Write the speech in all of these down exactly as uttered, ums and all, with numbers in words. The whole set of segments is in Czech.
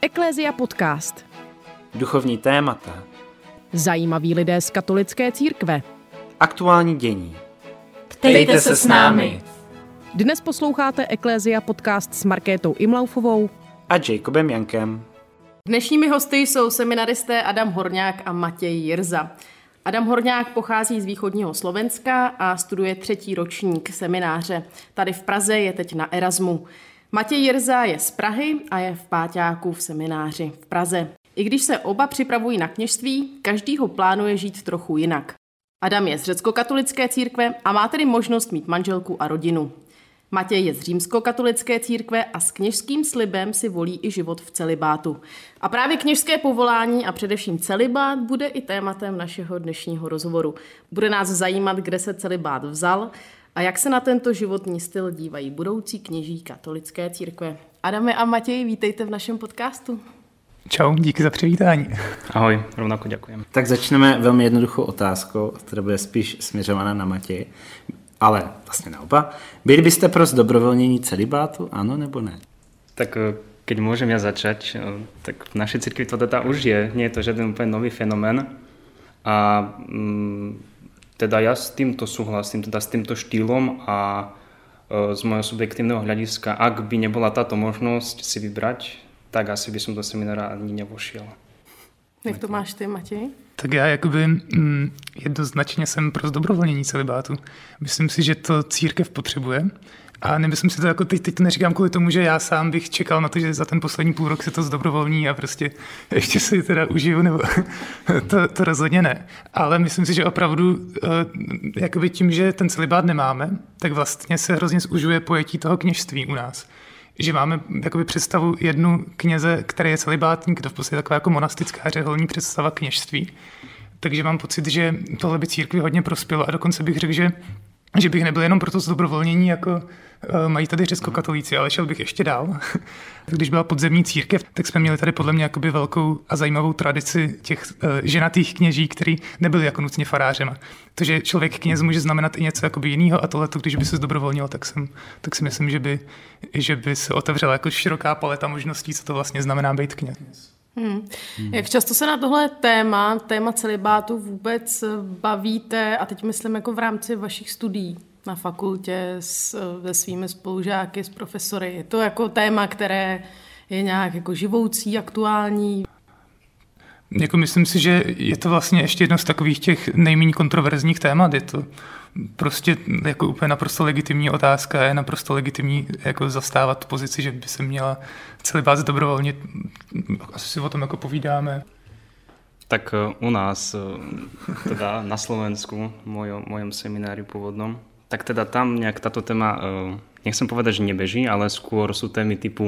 Eklézia podcast. Duchovní témata. Zajímaví lidé z katolické církve. Aktuální dění. Ptejte se s námi. Dnes posloucháte Eklézia podcast s Markétou Imlaufovou a Jacobem Jankem. Dnešními hosty jsou seminaristé Adam Horňák a Matěj Jirza. Adam Horňák pochází z východního Slovenska a studuje třetí ročník semináře. Tady v Praze je teď na Erasmu. Matěj Jirza je z Prahy a je v páťáku v semináři v Praze. I když se oba připravují na kněžství, každý ho plánuje žít trochu jinak. Adam je z řeckokatolické církve a má tedy možnost mít manželku a rodinu. Matěj je z římskokatolické církve a s kněžským slibem si volí i život v celibátu. A právě kněžské povolání a především celibát bude i tématem našeho dnešního rozhovoru. Bude nás zajímat, kde se celibát vzal a jak se na tento životní styl dívají budoucí kněží katolické církve. Adame a Matěj, vítejte v našem podcastu. Čau, díky za přivítání. Ahoj, rovnako ďakujem. Tak začneme velmi jednoduchou otázkou, která bude spíš směřovaná na Matěj, ale vlastně naopak. Byli byste pro zdobrovolnění celibátu, ano nebo ne? Tak keď môžem ja začať, tak v našej cirkvi to teda už je, nie je to žiaden úplne nový fenomén. A mm, teda ja s týmto súhlasím, teda s týmto štýlom a e, z môjho subjektívneho hľadiska, ak by nebola táto možnosť si vybrať, tak asi by som do seminára ani nevošiel. Jak to máš ty, Matěj? Tak já jakoby mm, jednoznačně jsem pro zdobrovolnění celibátu. Myslím si, že to církev potřebuje. A nemyslím si to jako teď, teď to neříkám kvůli tomu, že já sám bych čekal na to, že za ten poslední půl rok se to zdobrovolní a prostě ještě si teda užiju, nebo to, to rozhodně ne. Ale myslím si, že opravdu jakoby tím, že ten celibát nemáme, tak vlastně se hrozně zužuje pojetí toho kněžství u nás. Že máme jakoby představu jednu kněze, který je celibátník, to v podstatě taková jako monastická řeholní představa kněžství. Takže mám pocit, že tohle by církvi hodně prospělo a dokonce bych řekl, že, že bych nebyl jenom pro to zdobrovolnění, jako uh, mají tady řeckokatolíci, ale šel bych ještě dál. Když byla podzemní církev, tak jsme měli tady podle mě jakoby velkou a zajímavou tradici těch uh, ženatých kněží, kteří nebyli jako nutně farářema. To, že člověk kněz může znamenat i něco jakoby jiného a tohleto, když by se zdobrovolnil, tak, jsem, tak si myslím, že by, že by se otevřela jako široká paleta možností, co to vlastně znamená být kněz. Hmm. Hmm. Jak často se na tohle téma, téma celibátu vůbec bavíte, a teď myslím jako v rámci vašich studií na fakultě s, se svými spolužáky, s profesory? Je to jako téma, které je nějak jako živoucí, aktuální? Jako myslím si, že je to vlastně ještě jedno z takových těch nejméně kontroverzních témat. Je to prostě jako úplně naprosto legitimní otázka, je naprosto legitimní jako zastávat pozici, že by se měla celibát zdobrovolnit. Asi si o tom jako povídáme. Tak u nás, teda na Slovensku, v mojom, mojom seminári pôvodnom, tak teda tam nejak táto téma, nechcem povedať, že nebeží, ale skôr sú témy typu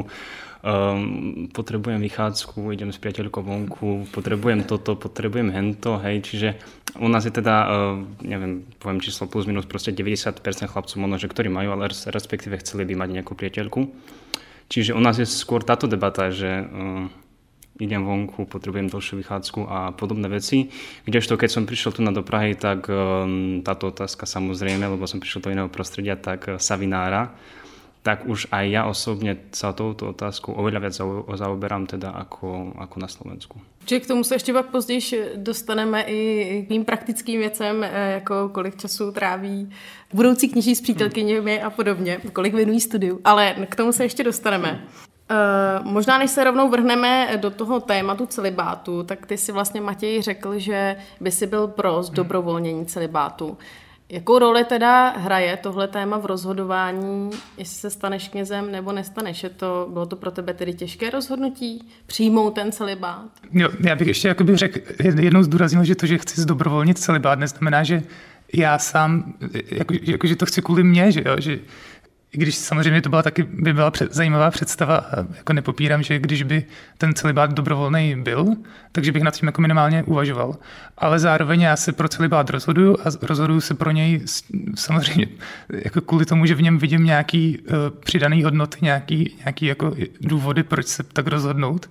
Um, potrebujem vychádzku, idem s priateľkou vonku, potrebujem toto, potrebujem hento, hej, čiže u nás je teda, uh, neviem, poviem číslo plus minus, proste deväťdesiat percent chlapcov možno, že ktorí majú, ale respektíve chceli by mať nejakú priateľku. Čiže u nás je skôr táto debata, že uh, idem vonku, potrebujem dlhšiu vychádzku a podobné veci. Kdežto keď som prišiel tu na do Prahy, tak um, táto otázka samozrejme, lebo som prišiel do iného prostredia, tak uh, sa vynára. Tak už aj ja osobne sa touto otázkou oveľa viac zaoberám teda ako, ako na Slovensku. Či k tomu se ještě pak později dostaneme i k tým praktickým věcem, jako kolik času tráví budoucí kněží s přítelkyněmi a podobně, kolik věnují studiu, ale k tomu se ještě dostaneme. Uh, možná než se rovnou vrhneme do toho tématu celibátu, tak ty si vlastně, Matěj, řekl, že by si byl pro zdobrovolnění celibátu. Jakou roli teda hraje tohle téma v rozhodování, jestli se staneš knězem nebo nestaneš? Je to, bylo to pro tebe tedy těžké rozhodnutí přijmout ten celibát? Jo, já bych ještě jakoby řekl, jednou zdůraznil, že to, že chci zdobrovolnit celibát, neznamená, že já sám, jako, jako že to chci kvůli mně, že jo, že i když samozřejmě to byla taky by byla před, zajímavá představa a jako nepopírám, že když by ten celibát dobrovolný byl, takže bych nad tím jako minimálně uvažoval. Ale zároveň já se pro celibát rozhoduju a rozhoduju se pro něj samozřejmě jako kvůli tomu, že v něm vidím nějaký uh, přidaný hodnoty, nějaký, nějaký jako důvody, proč se tak rozhodnout.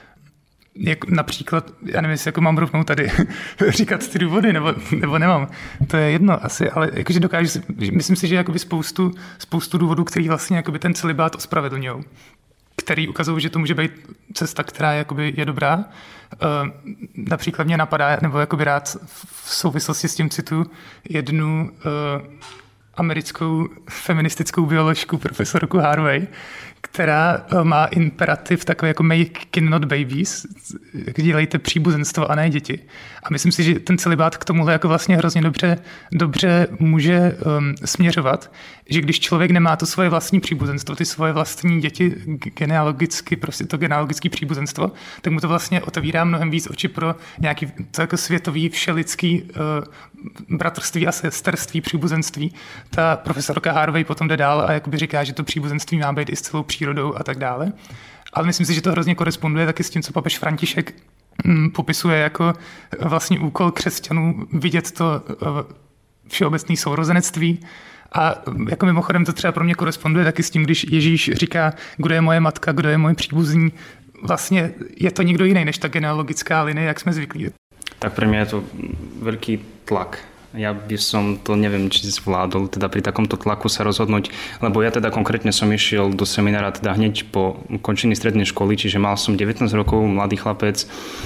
Jak například, já nevím, jestli jako mám rovnou tady říkat ty důvody, nebo, nebo nemám. To je jedno asi, ale jakože dokážu si, myslím si, že jakoby spoustu, spoustu důvodů, který vlastně jakoby ten celibát ospravedlňují. který ukazují, že to může být cesta, která jakoby je dobrá. Například mě napadá, nebo jakoby rád v souvislosti s tím citu jednu americkou feministickou bioložku profesorku Harvey, která má imperativ takový jako make kin not babies, dělejte příbuzenstvo a ne děti. A myslím si, že ten celibát k tomuhle jako vlastně hrozně dobře, dobře může um, směřovat, že když člověk nemá to svoje vlastní příbuzenstvo, ty svoje vlastní děti genealogicky, prostě to genealogické příbuzenstvo, tak mu to vlastně otevírá mnohem víc oči pro nějaký to jako světový všelidský uh, bratrství a sesterství, příbuzenství. Ta profesorka Harvey potom jde dál a jakoby říká, že to příbuzenství má být i s celou přírodou a tak dále. Ale myslím si, že to hrozně koresponduje taky s tím, co papež František mm, popisuje jako vlastní úkol křesťanů vidět to uh, všeobecné sourozenectví. A jako mimochodem to třeba pro mě koresponduje taky s tím, když Ježíš říká, kdo je moje matka, kdo je můj příbuzný. Vlastně je to někdo jiný než ta genealogická linie, jak jsme zvyklí. Tak pre mňa je to veľký tlak. Ja by som to neviem, či zvládol teda pri takomto tlaku sa rozhodnúť, lebo ja teda konkrétne som išiel do seminára teda hneď po ukončení strednej školy, čiže mal som devätnásť rokov, mladý chlapec.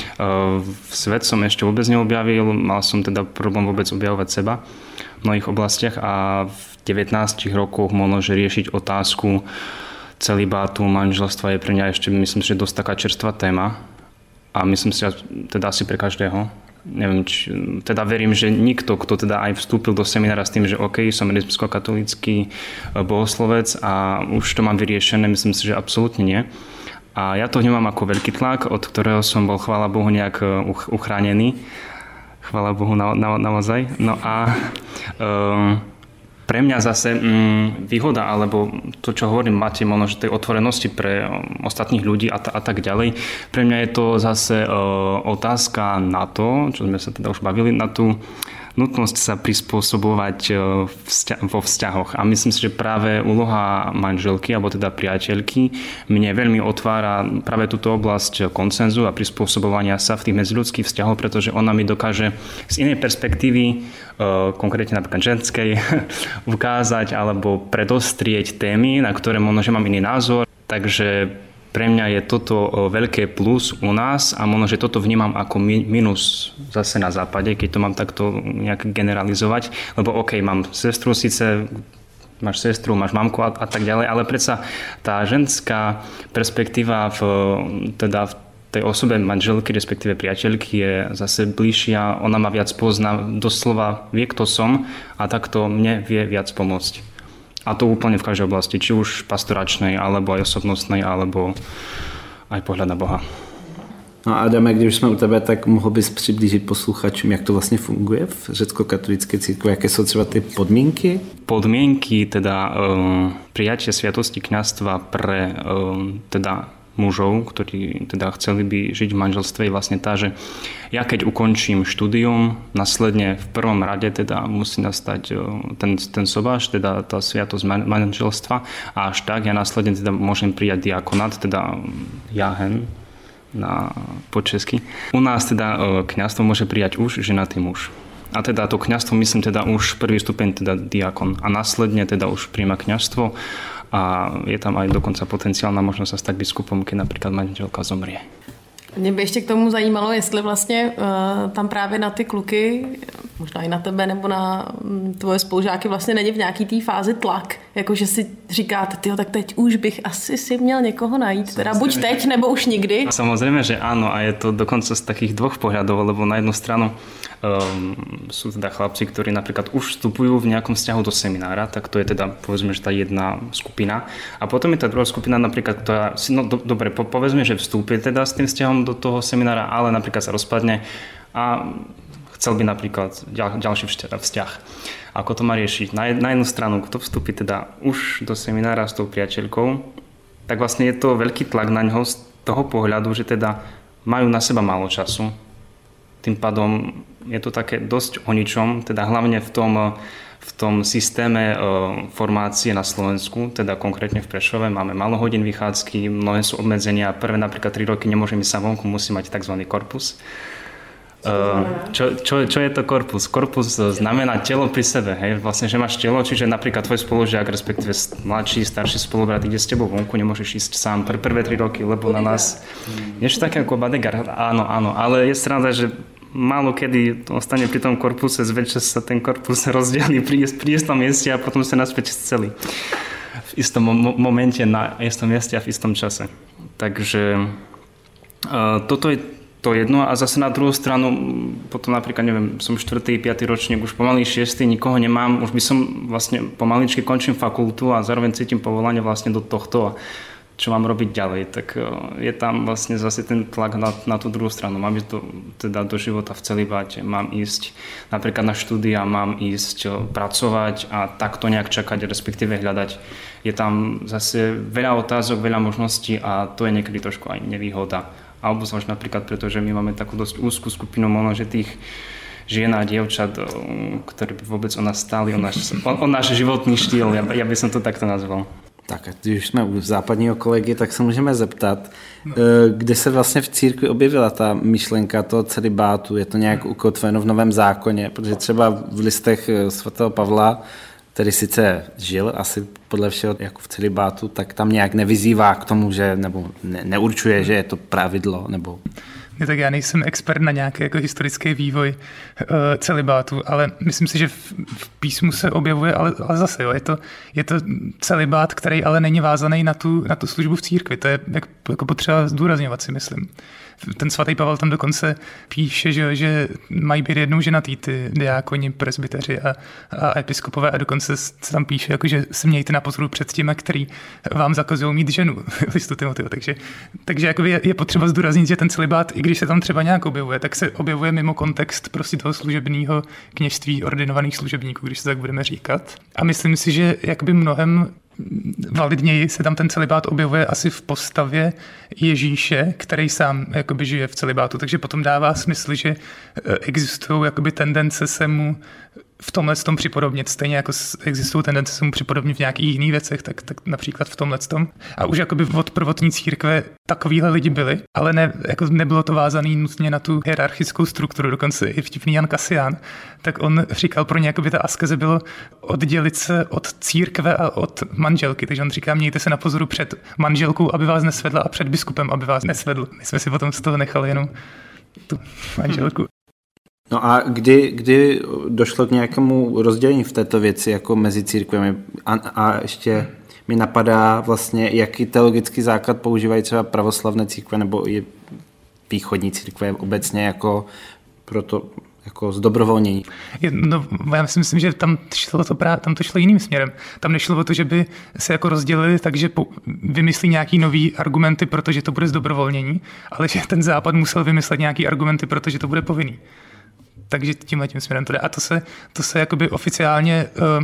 Svet som ešte vôbec neobjavil, mal som teda problém vôbec objavovať seba v mnohých oblastiach a v devätnástich rokoch možno, že riešiť otázku celibátu, manželstva je pre mňa ešte, myslím si, že dosť taká čerstvá téma a myslím si, teda asi pre každého. Neviem, či, teda verím, že nikto, kto teda aj vstúpil do seminára s tým, že OK, som rímskokatolícky bohoslovec a už to mám vyriešené, myslím si, že absolútne nie. A ja to vnímam ako veľký tlak, od ktorého som bol, chvála Bohu, nejak uchránený. Chvála Bohu, na, na, naozaj. No a um, pre mňa zase um, výhoda, alebo to, čo hovorím, máte možno, že tej otvorenosti pre um, ostatných ľudí a, ta, a tak ďalej. Pre mňa je to zase uh, otázka na to, čo sme sa teda už bavili, na tú nutnosť sa prispôsobovať vo vzťahoch. A myslím si, že práve úloha manželky, alebo teda priateľky, mne veľmi otvára práve túto oblasť konsenzu a prispôsobovania sa v tých medziľudských vzťahoch, pretože ona mi dokáže z inej perspektívy, konkrétne napríklad ženskej, ukázať alebo predostrieť témy, na ktoré možno, že mám iný názor. Takže pre mňa je toto veľké plus u nás a možno, že toto vnímam ako minus zase na západe, keď to mám takto nejak generalizovať. Lebo OK, mám sestru, síce máš sestru, máš mamku a, a tak ďalej, ale predsa tá ženská perspektíva v, teda v tej osobe manželky, respektíve priateľky je zase bližšia, ona ma viac pozná, doslova vie, kto som a takto mne vie viac pomôcť. A to úplne v každej oblasti, či už pastoračnej, alebo aj osobnostnej, alebo aj pohľad na Boha. No a Adame, když jsme u tebe, tak mohl bys přiblížit posluchačům, jak to vlastně funguje v řecko-katolické církvi, jaké jsou třeba ty podmínky? Podmienky, teda um, prijatie sviatosti kňazstva pre um, teda mužov, ktorí teda chceli by žiť v manželstve, je vlastne tá, že ja keď ukončím štúdium, následne v prvom rade teda musí nastať ten, ten sobáš, teda tá sviatosť manželstva a až tak ja následne teda môžem prijať diakonát, teda jahen na po česky. U nás teda kňazstvo môže prijať už ženatý muž. A teda to kňazstvo, myslím teda už prvý stupeň teda diakon a následne teda už príjma kňazstvo a je tam aj dokonca potenciálna možnosť sa stať biskupom, keď napríklad manželka zomrie. Mě by ještě k tomu zajímalo, jestli vlastně uh, tam právě na ty kluky, možná i na tebe nebo na um, tvoje spolužáky vlastně není v nějaký té fázi tlak, jakože si říkáte, tyjo, tak teď už bych asi si měl někoho najít, teda buď teď, nebo už nikdy. Samozrejme, že áno a je to dokonca z takých dvoch pohľadov, lebo na jednu stranu um, sú teda chlapci, ktorí napríklad už vstupujú v nejakom vzťahu do seminára, tak to je teda povedzme, že tá jedna skupina a potom je tá druhá skupina napríklad, ktorá si, no do, dobre, po, povedzme, že vstúpi teda s tým vzťahom do toho seminára, ale napríklad sa rozpadne a chcel by napríklad ďal, ďalší vzťah. Ako to má riešiť? Na, na jednu stranu, kto vstúpi teda už do seminára s tou priateľkou, tak vlastne je to veľký tlak na ňoho z toho pohľadu, že teda majú na seba málo času. Tým pádom je to také dosť o ničom, teda hlavne v tom v tom systéme e, formácie na Slovensku, teda konkrétne v Prešove, máme málo hodín vychádzky, mnohé sú obmedzenia. Prvé napríklad tri roky nemôžem ísť sa vonku, musím mať tzv. korpus. Čo, čo, čo je to korpus? Korpus znamená telo pri sebe, hej? Vlastne, že máš telo, čiže napríklad tvoj spolužiak, respektíve mladší, starší spolubrat ide s tebou vonku, nemôžeš ísť sám pre prvé tri roky, lebo na nás niečo také ako bodyguard, áno, áno, ale je sranda, že málo kedy ostane pri tom korpuse, zväčša sa ten korpus rozdielí pri, pri istom mieste a potom sa naspäť celý v istom mo- momente, na istom mieste a v istom čase. Takže uh, toto je to jedno a zase na druhú stranu potom napríklad, neviem, som štvrtý, piatý ročník, už pomaly šiestý, nikoho nemám, už by som vlastne pomaličky končím fakultu a zároveň cítim povolanie vlastne do tohto a čo mám robiť ďalej, tak je tam vlastne zase ten tlak na, na tú druhú stranu. Mám ísť do, teda do života v celibáte, mám ísť napríklad na štúdia, mám ísť pracovať a takto nejak čakať, respektíve hľadať. Je tam zase veľa otázok, veľa možností a to je niekedy trošku aj nevýhoda. A obzvlášť napríklad, pretože my máme takú dosť úzkú skupinu možno, že tých žien a dievčat, ktorí by vôbec o nás stáli, o náš, o, o náš životný štýl, ja, ja by som to takto nazval. Tak a když jsme u západního kolegy, tak se můžeme zeptat, kde se vlastně v církvi objevila ta myšlenka toho celibátu, je to nějak ukotveno v Novém zákoně, protože třeba v listech svatého Pavla, který sice žil asi podle všeho jako v celibátu, tak tam nějak nevyzývá k tomu, že nebo ne, neurčuje, že je to pravidlo, nebo... Ne, tak já nejsem expert na nějaký jako historický vývoj uh, celibátu, ale myslím si, že v, v písmu se objevuje, ale, ale zase jo, je to, je to celibát, který ale není vázaný na tu, na tu službu v církvi. To je jak, jako potřeba zdůrazňovat, si myslím. Ten svatý Pavel tam dokonce píše, že, že mají být jednou ženatý ty diákoni, presbyteři a, a episkopové a dokonce se tam píše, jako, že se mějte na pozoru před těmi, který vám zakazují mít ženu. Listu Timoteho. Takže, takže jako je, je potřeba zdůraznit, že ten celibát, i když se tam třeba nějak objevuje, tak se objevuje mimo kontext prostě toho služebního kněžství ordinovaných služebníků, když se tak budeme říkat. A myslím si, že jakoby mnohem validněji se tam ten celibát objevuje asi v postavě Ježíše, který sám jakoby žije v celibátu, takže potom dává smysl, že existují jakoby tendence se mu v tomhle tom připodobnit, stejně jako existují tendence se mu připodobnit v nějakých jiných věcech, tak, tak například v tomhle tom. A už jakoby od prvotní církve takovýhle lidi byli, ale ne, jako nebylo to vázané nutně na tu hierarchickou strukturu, dokonce i vtipný Jan Kasián, tak on říkal, pro ně jakoby ta askeze bylo oddělit se od církve a od manželky, takže on říká, mějte se na pozoru před manželkou, aby vás nesvedla a před biskupem, aby vás nesvedl. My jsme si potom z toho nechali jenom tu manželku. No a kdy, kdy došlo k nějakému rozdělení v této věci jako mezi církvemi? A, a ještě mi napadá vlastně, jaký teologický základ používají třeba pravoslavné církve nebo i východní církve obecně jako proto jako zdobrovolnění. No, já si myslím, že tam šlo to právě, tam to šlo jiným směrem. Tam nešlo o to, že by se jako rozdělili, takže po, vymyslí nějaký nový argumenty, protože to bude zdobrovolnění, ale že ten západ musel vymyslet nějaký argumenty, protože to bude povinný. Takže tímhle tím směrem to jde. A to se, to se jakoby oficiálně uh,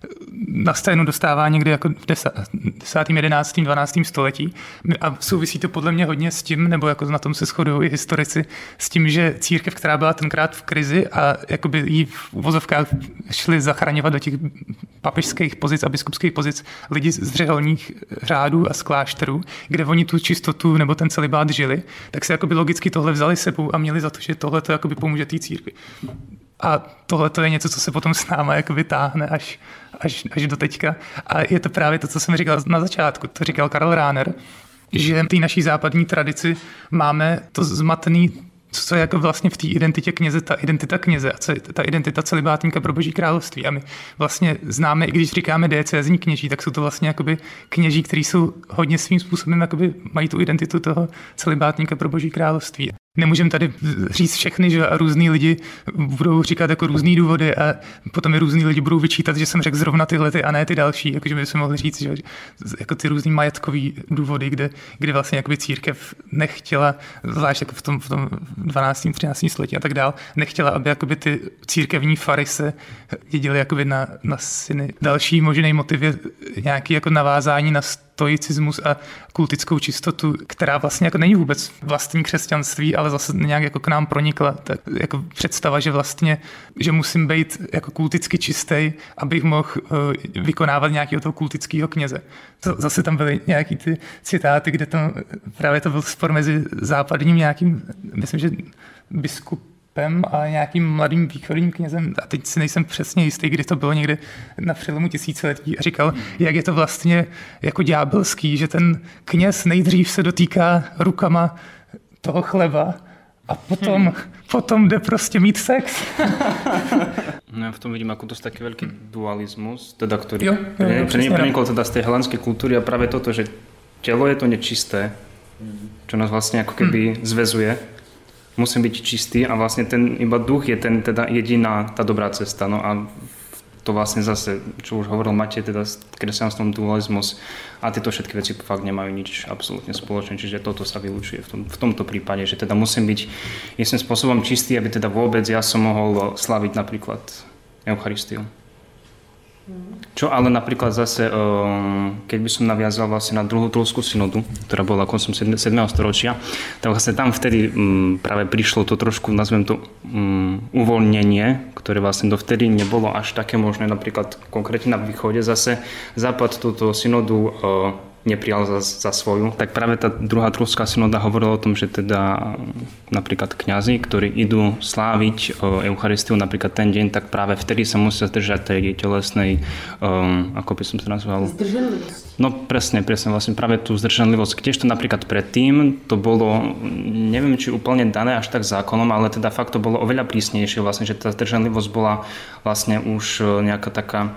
na scénu dostává někdy jako v desátém, jedenáctém, dvanáctém století. A souvisí to podle mě hodně s tím, nebo jako na tom se shodují i historici, s tím, že církev, která byla tenkrát v krizi a jakoby jí v uvozovkách šli zachraňovat do těch papežských pozic a biskupských pozic lidi z řeholních řádů a z klášterů, kde oni tu čistotu nebo ten celibát žili, tak se jakoby logicky tohle vzali sebou a měli za to, že tohle to jakoby pomůže té církvi. A tohle to je něco, co se potom s náma jako vytáhne až, až, až do teďka. A je to právě to, co jsem říkal na začátku. To říkal Karl Rahner, že v té naší západní tradici máme to zmatený, co je jako vlastně v té identitě kněze, ta identita kněze a ta identita celibátníka pro Boží království. A my vlastně známe, i když říkáme diecézní kněží, tak jsou to vlastně jakoby kněží, kteří jsou hodně svým způsobem, jakoby mají tu identitu toho celibátníka pro Boží království. Nemůžeme tady říct všechny, že a různý lidi budou říkat jako různý důvody a potom i různý lidi budou vyčítat, že jsem řekl zrovna tyhle ty a ne ty další, jakože bychom mohli říct, že jako ty různý majetkový důvody, kde, kde vlastně jakoby církev nechtěla, zvlášť jako v tom, v tom dvanáctém třináctém století a tak dál, nechtěla, aby jakoby ty církevní fary se dědily jakoby na, na syny. Další možný motiv je nějaký jako navázání na stoicismus a kultickou čistotu, která vlastně jako není vůbec vlastní křesťanství, ale zase nějak jako k nám pronikla. Tak jako představa, že vlastně, že musím být jako kulticky čistý, abych mohl uh, vykonávat nějakého toho kultického kněze. To, zase tam byly nějaký ty citáty, kde tam právě to byl spor mezi západním nějakým, myslím, že biskup biskupem a nějakým mladým východním knězem, a teď si nejsem přesně jistý, kdy to bylo někde na přelomu tisíciletí, a říkal, jak je to vlastně jako ďábelský, že ten kněz nejdřív se dotýká rukama toho chleba a potom, hmm. potom jde prostě mít sex. No ja v tom vidím ako dosť taký veľký dualizmus, teda ktorý jo, jo, jo, prenikol teda z tej helenskej kultúry a práve toto, že telo je to nečisté, čo nás vlastne ako keby hmm. zväzuje. Musím byť čistý a vlastne ten iba duch je ten teda jediná tá dobrá cesta. No a to vlastne zase, čo už hovoril Matej, teda kresťanstvom dualizmus a tieto všetky veci fakt nemajú nič absolútne spoločné, čiže toto sa vylučuje v, tom, v tomto prípade, že teda musím byť istým spôsobom čistý, aby teda vôbec ja som mohol slaviť napríklad Eucharistiu. Čo ale napríklad zase, keď by som naviazal vlastne na druhú Trulskú synodu, ktorá bola koncom siedmeho storočia, tak vlastne tam vtedy práve prišlo to trošku, nazvem to, uvoľnenie, ktoré vlastne dovtedy nebolo až také možné, napríklad konkrétne na východe. Zase Západ túto synodu neprijal za, za svoju. Tak práve tá druhá Trulská synoda hovorila o tom, že teda napríklad kňazi, ktorí idú sláviť Eucharistiu napríklad ten deň, tak práve vtedy sa musia zdržať tej telesnej, um, ako by som to nazval? Zdržanlivosť. No presne, presne, vlastne práve tú zdržanlivosť. Kdežto napríklad predtým to bolo, neviem, či úplne dané až tak zákonom, ale teda fakt to bolo oveľa prísnejšie, vlastne, že tá zdržanlivosť bola vlastne už nejaká taká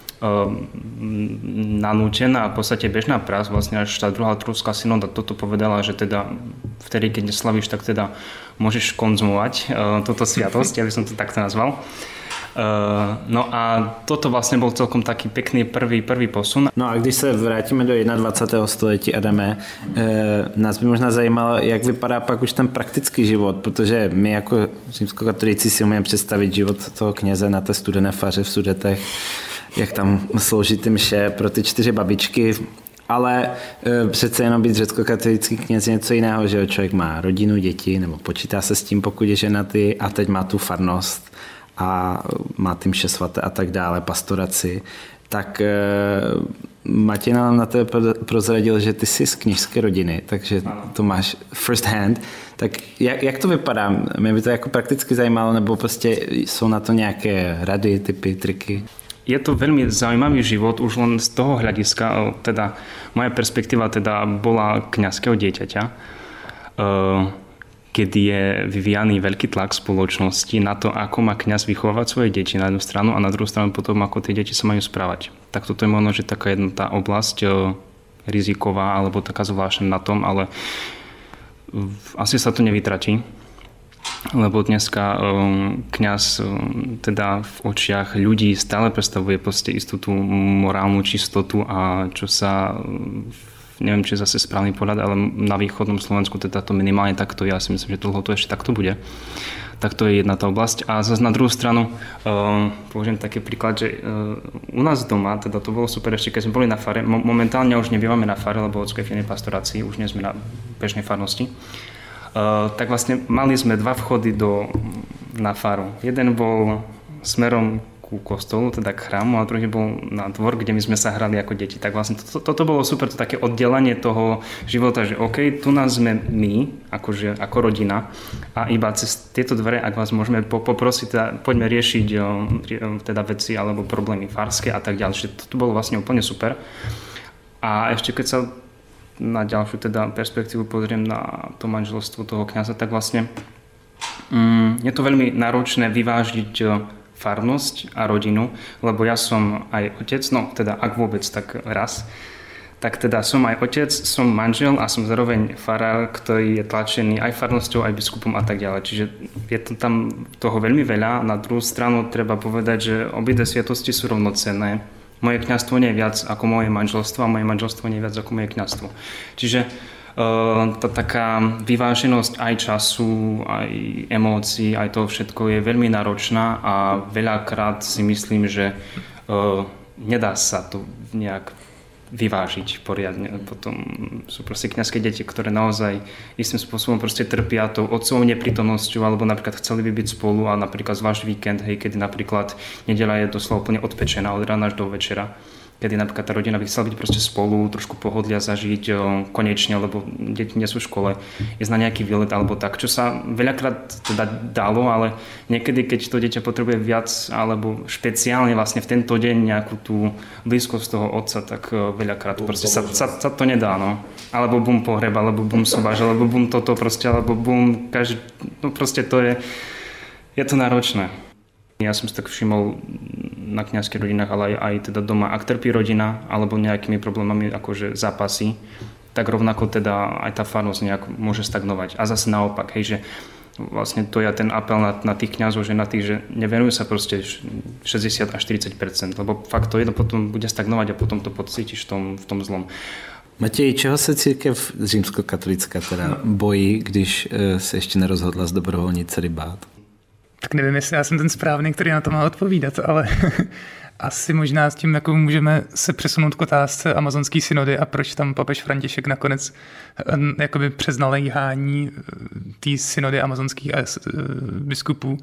nanútená, v podstate bežná prax, vlastne až tá druhá Trulská synoda toto povedala, že teda vtedy, keď neslavíš, tak teda môžeš konzumovať uh, túto sviatosť, ja by som to takto nazval. Uh, no a toto vlastne bol celkom taký pekný prvý, prvý posun. No a když se vrátíme do dvacátého prvního století, Adame, eh, nás by možná zajímalo, jak vypadá pak už ten praktický život, protože my jako římskokatolíci si umíme představit život toho kněze na té studené faře v Sudetech, jak tam slouží ty mše pro ty čtyři babičky, ale e, přece jenom být řeckokatolický kněz je něco jiného, že člověk má rodinu, děti, nebo počítá se s tím, pokud je ženatý, a teď má tu farnost a má ty mše svaté a tak dále, pastoraci. Tak e, Matěj nám na tebe prozradil, že ty jsi z kněžské rodiny, takže to máš first hand. Tak jak, jak to vypadá? Mě by to jako prakticky zajímalo, nebo prostě jsou na to nějaké rady, typy, triky? Je to veľmi zaujímavý život, už len z toho hľadiska, teda moja perspektíva teda bola kňazského dieťaťa, kedy je vyvíjaný veľký tlak spoločnosti na to, ako má kňaz vychovávať svoje deti na jednu stranu a na druhú stranu potom, ako tie deti sa majú správať. Tak toto je možno, že taká jedna tá oblasť riziková alebo taká zvláštna na tom, ale asi sa to nevytratí. Lebo dneska um, kňaz um, teda v očiach ľudí stále predstavuje proste istú tú morálnu čistotu a čo sa, um, neviem, či je zase správny pohľad, ale na východnom Slovensku teda to minimálne takto, ja si myslím, že dlho to ešte takto bude. Tak to je jedna tá oblasť. A zase na druhú stranu, um, použijem taký príklad, že uh, u nás doma, teda to bolo super ešte, keď sme boli na fare, mo- momentálne už nebývame na fare, lebo ocko je v inej pastorácii, už nie sme na bežnej farnosti. Uh, tak vlastne mali sme dva vchody do, na faru. Jeden bol smerom ku kostolu, teda k chrámu, a druhý bol na dvor, kde my sme sa hrali ako deti. Tak vlastne to, to, toto bolo super, to také oddelenie toho života, že OK, tu nás sme my, akože, ako rodina, a iba cez tieto dvere, ak vás môžeme poprosiť, teda, poďme riešiť teda veci alebo problémy farské a tak ďalej. Čiže toto bolo vlastne úplne super. A ešte keď sa na ďalšiu teda perspektívu pozriem na to manželstvo toho kňaza, tak vlastne mm, je to veľmi náročné vyvážiť farnosť a rodinu, lebo ja som aj otec, no teda ak vôbec, tak raz, tak teda som aj otec, som manžel a som zároveň farár, ktorý je tlačený aj farnosťou, aj biskupom a tak ďalej. Čiže je to tam toho veľmi veľa. Na druhú stranu treba povedať, že obidve sviatosti sú rovnocenné. Moje kňazstvo nie je viac ako moje manželstvo a moje manželstvo nie je viac ako moje kňazstvo. Čiže uh, tá taká vyváženosť aj času, aj emócií, aj toho všetko je veľmi náročná a veľakrát si myslím, že uh, nedá sa to nejak vyvážiť poriadne. Potom sú proste kňazské deti, ktoré naozaj istým spôsobom proste trpia tou otcovou neprítomnosťou, alebo napríklad chceli by byť spolu a napríklad zvlášť víkend, hej, kedy napríklad nedeľa je doslova úplne odpečená od rána až do večera. kedy napríklad tá rodina by chcela byť proste spolu, trošku pohodlia zažiť konečne, lebo deti nie sú v škole, ísť na nejaký výlet alebo tak, čo sa veľakrát teda dalo, ale niekedy, keď to dieťa potrebuje viac alebo špeciálne vlastne v tento deň nejakú tú blízkosť toho otca, tak veľakrát proste sa, sa, sa to nedá, no. Alebo bum pohreb, alebo bum sobáš, alebo bum toto proste, alebo bum každý, no proste to je, je to náročné. Ja som si tak všimol na kňazských rodinách, ale aj, aj teda doma, ak trpí rodina alebo nejakými problémami akože zápasy, tak rovnako teda aj tá farnosť nejak môže stagnovať. A zase naopak, hej, že vlastne to je ten apel na, na tých kňazov, že na tých, že nevenujú sa proste šesťdesiat až štyridsať percent, lebo fakt to jedno potom bude stagnovať a potom to pocítiš v tom, v tom zlom. Matěj, čeho se církev římskokatolická teda bojí, když se ještě nerozhodla zdobrovolnit celibát? Tak nevím, jestli já jsem ten správný, který na to má odpovídat, ale asi možná s tím, jako můžeme se přesunout k otázce amazonské synody a proč tam papež František nakonec jakoby přes naléhání té synody amazonských biskupů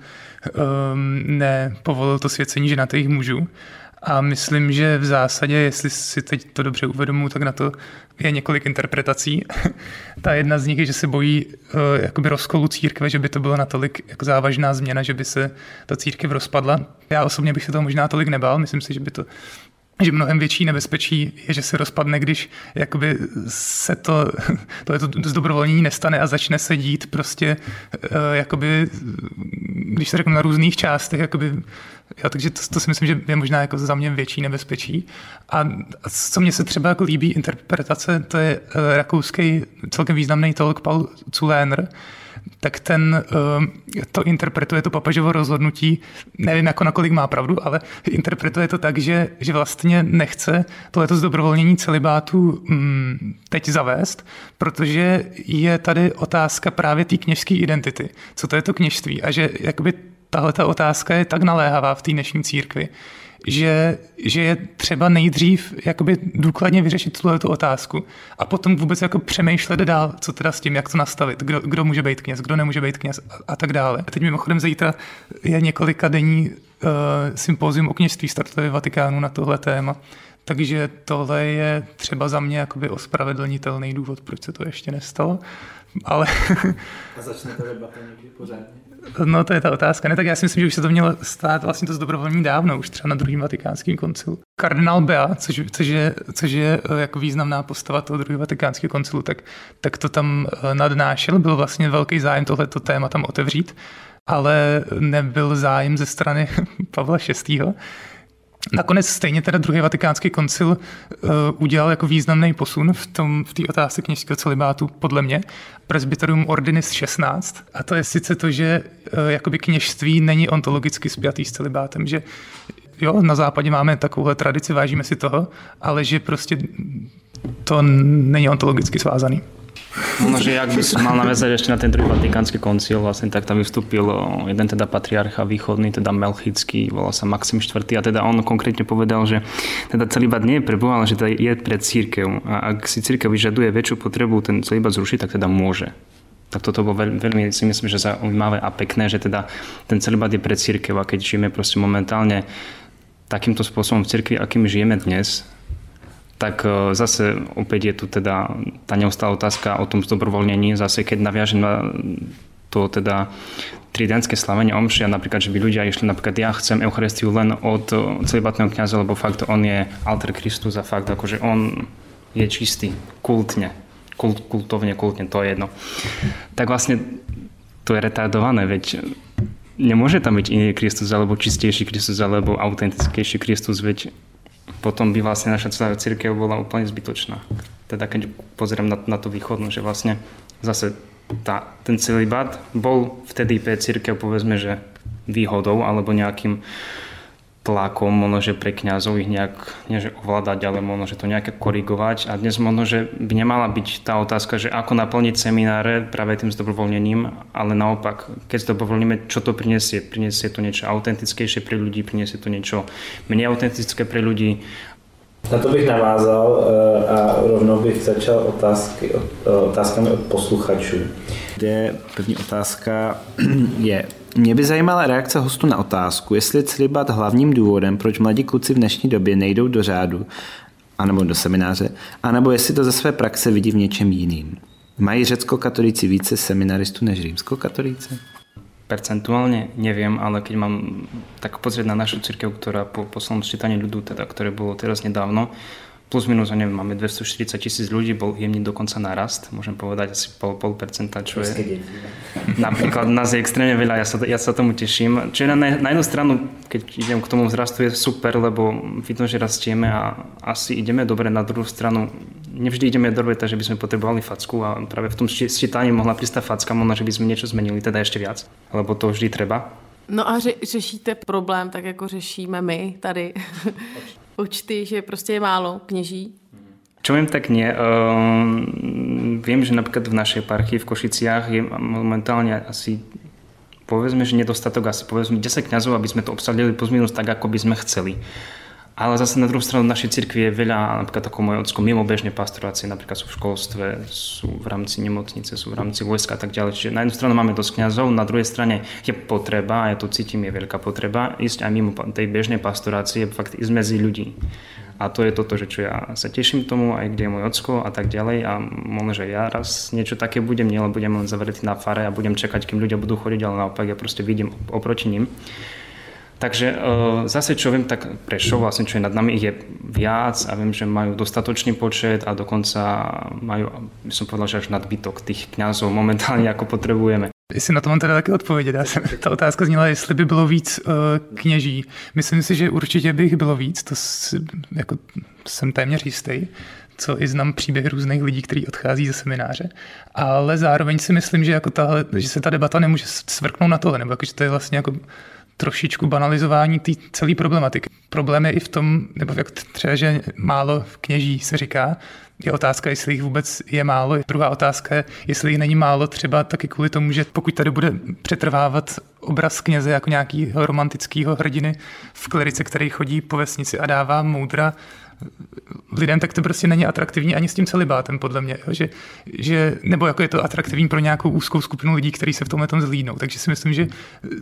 nepovolil to svěcení ženatých mužů. A myslím, že v zásadě, jestli si teď to dobře uvědomuji, tak na to je několik interpretací. Ta jedna z nich je, že se bojí uh, jakoby rozkolu církve, že by to bylo natolik jako závažná změna, že by se ta církev rozpadla. Já osobně bych se toho možná tolik nebál, myslím si, že by to že mnohem větší nebezpečí je, že se rozpadne, když jakoby se to, to, to zdobrovolnění nestane a začne se dít prostě jakoby, když se řeknu na různých částech, jakoby, jo, takže to, to si myslím, že je možná jako za mě větší nebezpečí. A co mně se třeba jako líbí interpretace, to je rakouský celkem významný teolog Paul Zuläner, tak ten to interpretuje to papežovo rozhodnutí, nevím jako nakolik má pravdu, ale interpretuje to tak, že, že vlastně nechce tohleto zdobrovolnění celibátu mm, teď zavést, protože je tady otázka právě té kněžské identity. Co to je to kněžství? A že jakoby tahleta otázka je tak naléhavá v té dnešní církvi, že, že je třeba nejdřív jakoby důkladně vyřešit tuto otázku a potom vůbec jako přemýšlet dál, co teda s tím, jak to nastavit, kdo, kdo může být kněz, kdo nemůže být kněz a, a tak dále. Teď mimochodem zítra je několika denní uh, sympózium o kněžství startuje v Vatikánu na tohle téma, takže tohle je třeba za mě jakoby ospravedlnitelný důvod, proč se to ještě nestalo, ale... A začne to debata někdy pořádně? No to je ta otázka. Ne, tak já si myslím, že už se to mělo stát vlastně to zdobrovolní dávno, už třeba na druhém vatikánském koncilu. Kardinál Bea, což, což, je, což je jako významná postava toho druhého vatikánského koncilu, tak, tak to tam nadnášel, byl vlastně velký zájem tohleto téma tam otevřít, ale nebyl zájem ze strany Pavla šestého. Nakonec stejně teda druhý vatikánský koncil uh, udělal jako významný posun v tom v té otázce kněžského celibátu podle mě. Presbyterium Ordinis šestnáct. A to je sice to, že uh, jakoby kněžství není ontologicky spjatý s celibátem, že jo, na západě máme takovouhle tradici, vážíme si toho, ale že prostě to není ontologicky svázaný. Možno, že ak by som mal naviazať ešte na ten druhý vatikánsky koncil, vlastne tak tam vystúpil jeden teda patriarcha východný, teda Melchický, volal sa Maxim štvrtý. A teda on konkrétne povedal, že teda celibát nie je pre Boha, ale že teda je pre cirkev. A ak si cirkev vyžaduje väčšiu potrebu ten celibát zrušiť, tak teda môže. Tak toto bolo veľmi, veľmi si myslím, že zaujímavé a pekné, že teda ten celibát je pre cirkev. A keď žijeme proste momentálne takýmto spôsobom v cirkvi, akým žijeme dnes, tak zase opäť je tu teda tá neustála otázka o tom zdobrovoľnení. Zase keď naviažem na to teda tridentské slavenie omši a napríklad, že by ľudia išli napríklad ja chcem Eucharistiu len od celibátneho kňaza, lebo fakt on je alter Christus a fakt akože on je čistý, kultne, kult, kultovne, kultne, to je jedno. Tak vlastne to je retardované, veď nemôže tam byť iný Kristus, alebo čistejší Kristus, alebo autentickejší Kristus, veď potom by vlastne naša celá cirkev bola úplne zbytočná. Teda keď pozerám na, na to východnú, že vlastne zase tá, ten celibát bol vtedy pre cirkev povedzme, že výhodou alebo nejakým tlakom, možno, že pre kňazov ich nejak, nie že ovládať, ale možno, že to nejaké korigovať. A dnes možno, že by nemala byť tá otázka, že ako naplniť semináre práve tým zdobrovoľnením, ale naopak, keď zdobrovoľníme, čo to prinesie? Prinesie to niečo autentickejšie pre ľudí, prinesie to niečo menej autentické pre ľudí. Na to bych navázal a rovnou bych začal otázky, otázkami od posluchačů. Kde první otázka je, Mě by zajímala reakce hostů na otázku, jestli je celibát hlavním důvodem, proč mladí kluci v dnešní době nejdou do řádu, anebo do semináře, anebo jestli to ze své praxe vidí v něčem jiným. Mají řecko-katolíci více seminaristů než římsko-katolíci? Percentuálne neviem, ale keď mám tak pozrieť na našu cirkev, ktorá po poslednom sčítaní ľudu, teda, ktoré bolo teraz nedávno, plus minus, neviem, máme dvestoštyridsať tisíc ľudí, bol jemný dokonca narast, môžem povedať asi pol, pol percenta, čo je... Napríklad nás je extrémne veľa, ja sa, ja sa tomu teším. Čiže na, na jednu stranu, keď idem k tomu vzrastu, je super, lebo vidno, že rastieme a asi ideme dobre. Na druhú stranu, nevždy ideme dobre, takže by sme potrebovali facku a práve v tom sčítaní mohla prísť tá facka, možno, že by sme niečo zmenili, teda ešte viac, lebo to vždy treba. No a ře- řešíte problém tak, jako řešíme my tady účty, že prostě je málo kněží? Čo viem, tak nie. Uh, viem, že napríklad v našej eparchii v Košiciach je momentálne asi, povedzme, že nedostatok asi povedzme desať kňazov, aby sme to obsadili plus minus tak, ako by sme chceli. Ale zase na druhú stranu v našej cirkvi je veľa, napríklad ako moje ocko, mimo bežnej pastorácie, napríklad sú v školstve, sú v rámci nemocnice, sú v rámci vojska a tak ďalej. Čiže na jednu stranu máme dosť kňazov, na druhej strane je potreba, a ja to cítim, je veľká potreba, ísť aj mimo tej bežnej pastorácie, fakt ísť medzi ľudí. A to je toto, že čo ja sa teším tomu, aj kde je môj ocko a tak ďalej. A možno, že ja raz niečo také budem, nie, ale budem len zavretý na fare a budem čakať, kým ľudia budú chodiť, ale naopak ja proste vidím oproti ním. Takže zase čo viem, tak Prešov, vlastne čo je nad nami, ich je viac a viem, že majú dostatočný počet a dokonca majú, by som povedal, že až nadbytok tých kňazov momentálne, ako potrebujeme. Jestli na to mám teda taky odpovědět. Já jsem, ta otázka zněla, jestli by bylo víc uh, kněží. Myslím si, že určitě by jich bylo víc, to si, jako, jsem téměř jistý, co i znám příběhy různých lidí, kteří odchází ze semináře. Ale zároveň si myslím, že, jako tahle, že se ta debata nemůže svrknout na tohle, nebo jako, že to je vlastně jako trošičku banalizování té celé problematiky. Problém je i v tom, nebo jak třeba, že málo kněží se říká, je otázka, jestli jich vůbec je málo. Druhá otázka je, jestli jich není málo třeba taky kvůli tomu, že pokud tady bude přetrvávat obraz kněze jako nějakého romantického hrdiny v klerice, který chodí po vesnici a dává moudra lidem, tak to prostě není atraktivní ani s tím celibátem, podle mě. Že, že, nebo jako je to atraktivní pro nějakou úzkou skupinu lidí, kteří se v tomhle tom zlídnou. Takže si myslím, že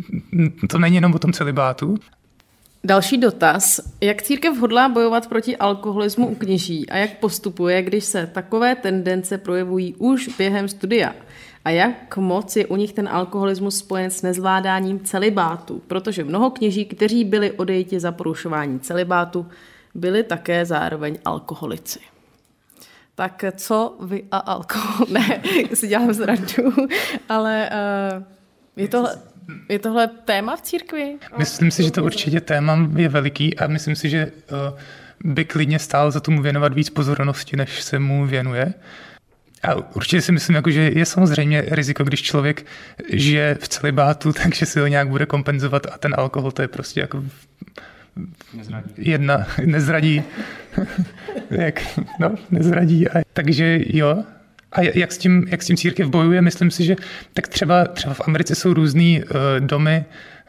to není jenom o tom celibátu. Další dotaz. Jak církev hodlá bojovat proti alkoholismu u kněží a jak postupuje, když se takové tendence projevují už během studia? A jak moc je u nich ten alkoholismus spojen s nezvládáním celibátu? Protože mnoho kněží, kteří byli odejti za porušování celibátu, byli také zároveň alkoholici. Tak co vy a alkohol? Ne, si dělám zradu, ale uh, je tohle... Je tohle téma v církvi? Myslím si, že to určitě téma je veliký a myslím si, že by klidně stál za tomu věnovat víc pozornosti, než se mu věnuje. A určitě si myslím, jako, že je samozřejmě riziko, když člověk žije v celibátu, takže si ho nějak bude kompenzovat a ten alkohol to je prostě jako nezradí. jedna, nezradí. Jak, no, nezradí. A, takže jo. A jak s tím, jak s tím církev bojuje, myslím si, že tak třeba, třeba v Americe jsou různý uh, domy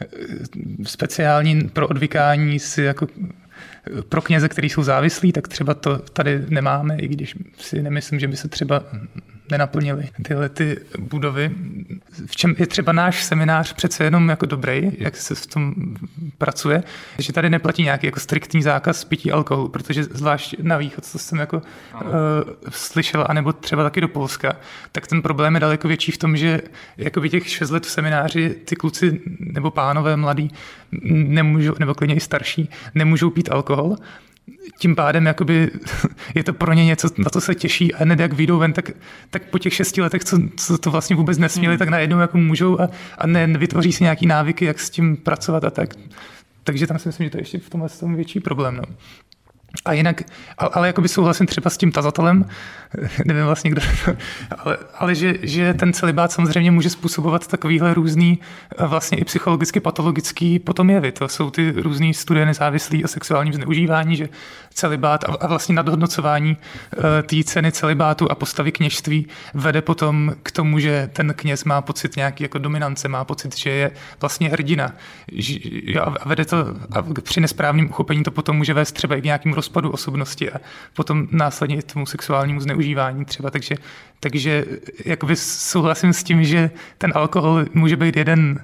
uh, speciální pro odvykání si jako uh, pro kněze, kteří jsou závislí, tak třeba to tady nemáme, i když si nemyslím, že by se třeba nenaplnily tyhle ty budovy. V čem je třeba náš seminář přece jenom jako dobrý, jak se v tom pracuje, že tady neplatí nějaký jako striktní zákaz pití alkoholu, protože zvlášť na východ, co jsem jako uh, slyšel, anebo třeba taky do Polska, tak ten problém je daleko větší v tom, že jakoby těch šest let v semináři ty kluci nebo pánové mladí nemůžou, nebo klidně i starší, nemůžou pít alkohol. Tím pádem jakoby, je to pro ně něco, na to se těší a hned jak vyjdou ven, tak, tak po těch šesti letech, co, co to vlastně vůbec nesměli, tak najednou jako můžou a, a ne, vytvoří si nějaký návyky, jak s tím pracovat a tak. Takže tam si myslím, že to je ještě v tomhle tom větší problém. No. A jinak, ale, ale jakoby souhlasím třeba s tím tazatelem, nevím vlastně kdo, ale, ale že, že ten celibát samozřejmě může způsobovat takovýhle různý vlastně i psychologicky patologický potom jevy. To jsou ty různý studie nezávislí o sexuálním zneužívání, že celibát a, a vlastně nadhodnocování uh, té ceny celibátu a postavy kněžství vede potom k tomu, že ten kněz má pocit nějaký jako dominance, má pocit, že je vlastně hrdina. Že, a vede to a při nesprávném uchopení to potom může vést třeba i k nějakým rozpadu osobnosti a potom následně i tomu sexuálnímu zneužívání třeba. Takže, takže jakoby souhlasím s tím, že ten alkohol může být jeden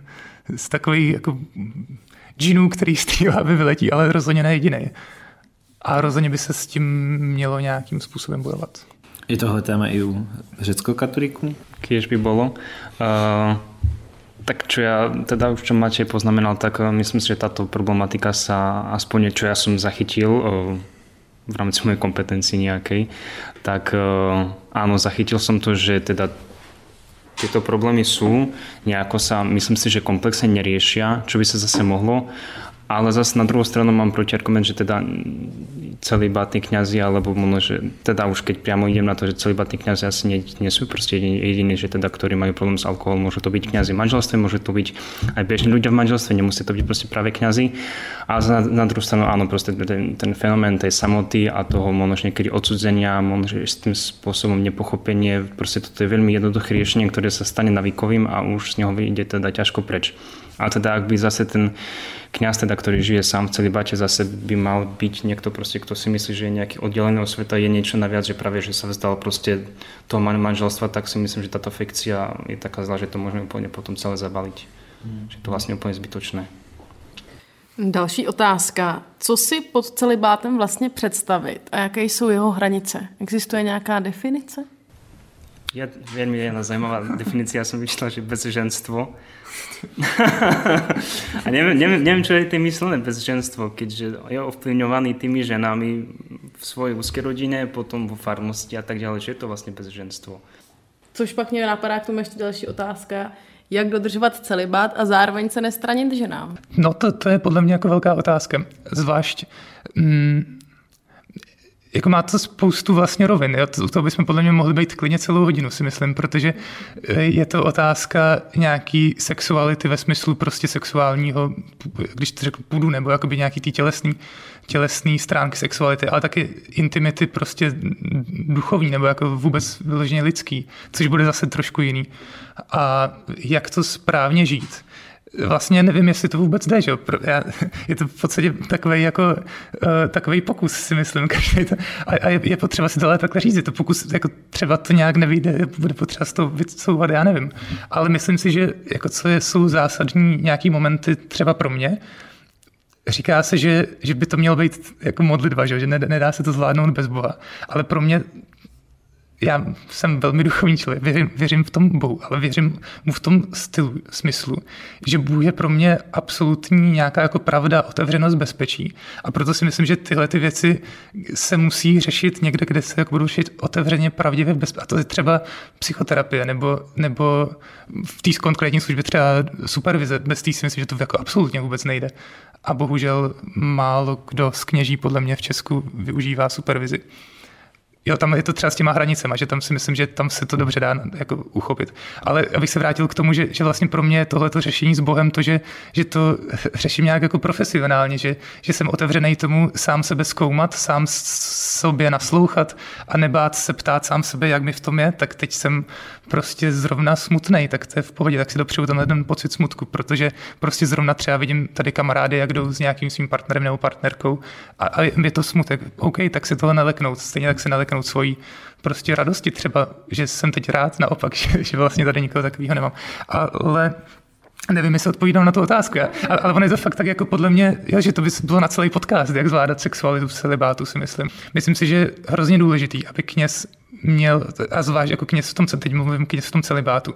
z takových jako džinů, který z té hlavy vyletí, ale rozhodně ne jediný. A rozhodně by se s tím mělo nějakým způsobem bojovat. Je tohle téma i u řeckokatolíků? Kiež by bolo. Uh, tak čo ja, teda už čo Matej poznamenal, tak uh, myslím si, že táto problematika sa, aspoň čo ja som zachytil uh, v rámci mojej kompetencii nejakej, tak uh, áno, zachytil som to, že teda tieto problémy sú, nejako sa, myslím si, že komplexne neriešia, čo by sa zase mohlo, ale zase na druhou stranu mám protiargument, že teda celibátni kňazi, alebo možno, že teda už keď priamo idem na to, že celibátni kňazi asi nie, nie sú proste jediní, jediní, že teda, ktorí majú problém s alkoholom, môžu to byť kňazi v manželstve, môžu to byť aj bežní ľudia v manželstve, nemusí to byť proste práve kňazi. A na, na druhú stranu áno, proste ten, ten fenomén tej samoty a toho možno niekedy odsudzenia, možno s tým spôsobom nepochopenie, proste toto je veľmi jednoduché riešenie, ktoré sa stane navykovým a už z neho vyjde teda ťažko preč. A teda ak by zase ten kňaz, teda, ktorý žije sám v celibáte, zase by mal byť niekto, proste, kto si myslí, že je nejaký oddelený od sveta, je niečo naviac, že práve, že sa vzdal proste toho manželstva, tak si myslím, že táto fikcia je taká zlá, že to môžeme úplne potom celé zabaliť. Hmm. Že to vlastne úplne zbytočné. Další otázka. Co si pod celibátem vlastně představit a jaké jsou jeho hranice? Existuje nějaká definice? Je veľmi jedna zaujímavá definícia, som vyšla, že bezženstvo. A neviem, neviem, neviem, čo je tým myslené bezženstvo, keďže je ovplyvňovaný tými ženami v svojej úzkej rodine, potom vo farnosti a tak ďalej, že je to vlastne bezženstvo. Což pak mě napadá k tomu ještě další otázka. Jak dodržovat celibát a zároveň se nestranit ženám? No to, to je podle mě jako velká otázka. Zvlášť... Mm, jako má to spoustu vlastně rovin. Jo? To, to bychom podle mě mohli být klidně celou hodinu, si myslím, protože je to otázka nějaký sexuality ve smyslu prostě sexuálního, když to řeknu půdu, nebo jakoby nějaký tý tělesný, tělesný stránky sexuality, ale taky intimity prostě duchovní, nebo jako vůbec vyloženě lidský, což bude zase trošku jiný. A jak to správně žít. Vlastně nevím, jestli to vůbec jde, že? Je to v podstatě takovej, jako, uh, takovej pokus, si myslím. To, a a je, je potřeba si to ale takhle říct. Je to pokus, jako třeba to nějak nevyjde, bude potřeba z toho vycouvat, já nevím. Ale myslím si, že jako co je, jsou zásadní nějaký momenty třeba pro mě. Říká se, že, že by to mělo být jako modlitba, že, že nedá se to zvládnout bez Boha. Ale pro mě já jsem velmi duchovní člověk, věřím, věřím v tom Bohu, ale věřím mu v tom stylu, smyslu, že Bůh je pro mě absolutní nějaká jako pravda, otevřenost, bezpečí. A proto si myslím, že tyhle ty věci se musí řešit někde, kde se jako budou řešit otevřeně, pravdivě, bezpečí. A to je třeba psychoterapie, nebo, nebo v té konkrétní službě třeba supervize. Bez té si myslím, že to jako absolutně vůbec nejde. A bohužel málo kdo z kněží podle mě v Česku využívá supervizi. Jo, tam je to třeba s těma hranicema, že tam si myslím, že tam se to dobře dá jako uchopit. Ale abych se vrátil k tomu, že, že vlastně pro mě tohleto řešení s Bohem, to, že, že to řeším nějak jako profesionálně, že, že jsem otevřený tomu sám sebe zkoumat, sám sobě naslouchat a nebát se ptát sám sebe, jak mi v tom je, tak teď jsem prostě zrovna smutnej, tak to je v pohodě, tak si dopřeju tenhle ten pocit smutku, protože prostě zrovna třeba vidím tady kamarády, jak jdou s nějakým svým partnerem nebo partnerkou a, a je to smutek. OK, tak se toho neleknout, stejně tak se neleknout svojí prostě radosti třeba, že jsem teď rád, naopak, že, že vlastně tady nikoho takového nemám. Ale nevím, jestli odpovídám na tu otázku, já. Ale, ale on je to fakt tak jako podle mě, jo, že to by bylo na celý podcast, jak zvládat sexualitu v celibátu, si myslím. Myslím si, že je hrozně důležitý, aby kněz měl, a zvlášť jako kněz v tom, teď mluvím kněz v tom celibátu,